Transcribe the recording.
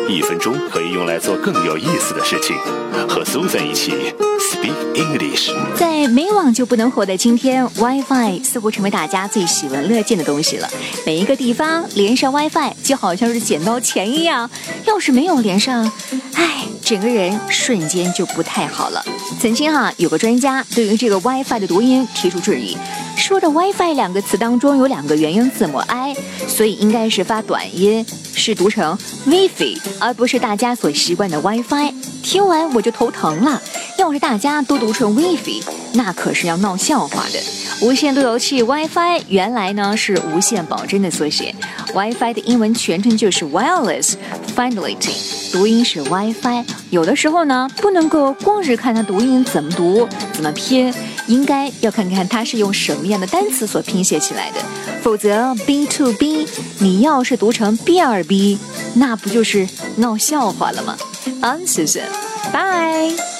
1分钟可以用来做更有意思的事情。和 Susan 一起 Speak English。 在没网就不能活的今天， Wi-Fi 似乎成为大家最喜闻乐见的东西了。每一个地方连上 Wi-Fi 就好像是捡到钱一样，要是没有连上，整个人瞬间就不太好了。曾经有个专家对于这个 Wi-Fi 的读音提出质疑，说的 Wi-Fi 2个词当中有2个元音字母 I， 所以应该是发短音，是读成 Wi-Fi， 而不是大家所习惯的 Wi-Fi。听完我就头疼了，要是大家都读成 Wi-Fi， 那可是要闹笑话的。无线路由器 Wi-Fi 原来呢是无线保真的缩写， Wi-Fi 的英文全称就是 Wireless Fidelity， 读音是 Wi-Fi。 有的时候呢不能够光是看它读音怎么读怎么拼，应该要看看它是用什么样的单词所拼写起来的，否则 B to B 你要是读成 B2B， 那不就是闹笑话了吗？ I'm Susan， Bye。